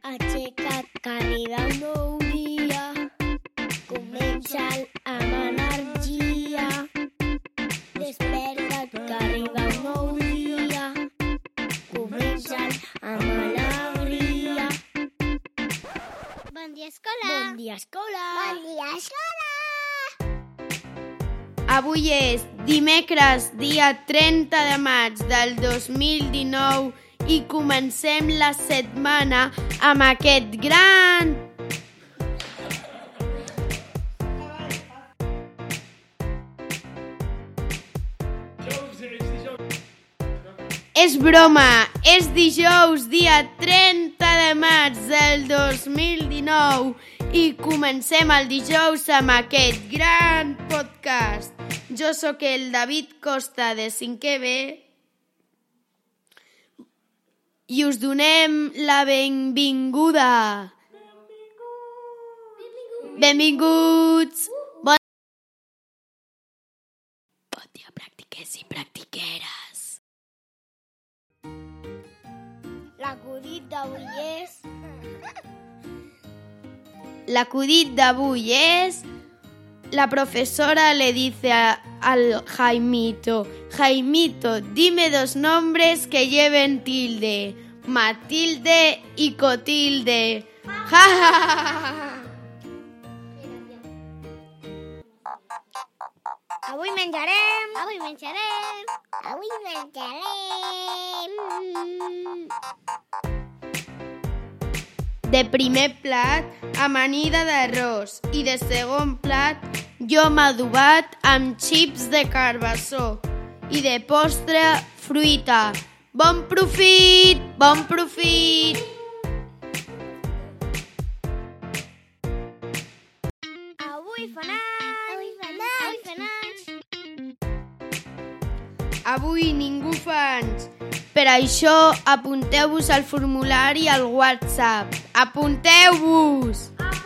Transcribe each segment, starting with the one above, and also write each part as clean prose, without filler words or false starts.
Aixeca't, que arriba un nou dia. Comença'l amb energia. Desperta't, que arriba un nou dia. Comença'l amb alegria. Bon dia, escola. Bon dia, escola. Bon dia, escola. Avui és dimecres, dia 30 de maig del 2019 i comencem la setmana amb aquest gran... És broma, és dijous, dia 30 de maig del 2019 i comencem el dijous amb aquest gran podcast. Jo sóc el David Costa de 5è B i us donem la benvinguda. Benvinguts. Bon dia, practiquers i practiqueres. L'acudit d'avui és... L'acudit d'avui és... La profesora le dice al Jaimito: Jaimito, dime dos nombres que lleven tilde. Matilde y Cotilde. ¡Ja, ja, ja! Avui menjarem. Avui menjarem. Avui menjarem. De primer plat, amanida d'arròs i de segon plat, llom adobat amb xips de carbassó i de postre, fruita. Bon profit! Bon profit! Avui fanàs. Avui fanàs. Avui fanàs. Avui ningú fa anys. Per això, apunteu-vos al formulari al WhatsApp. Apunteu-vos!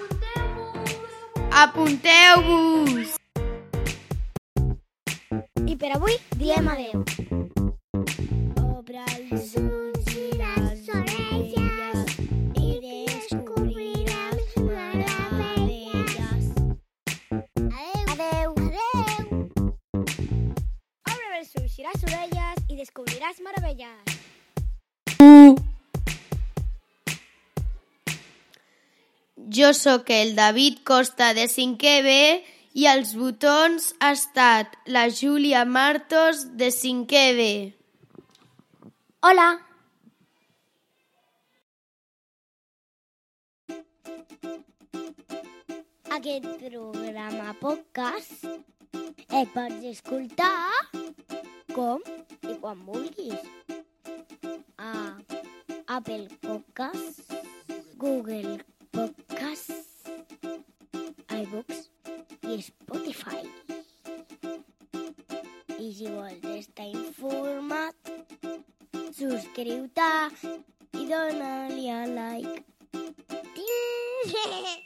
Apunteu-vos! I per avui diem adeu. Obre els ulls i les orelles i descobriràs meravelles. Adeu. Adeu. Obre els ulls i les orelles i descobriràs meravelles. Jo sóc el David Costa de 5è B i els botons ha estat la Júlia Martos de 5è B. Hola. Aquest programa podcast el pots escoltar com i quan vulguis. A Apple Podcasts, Google Podcasts, iVoox i Spotify. I si vols estar informat, subscriu-te i dona-li a like.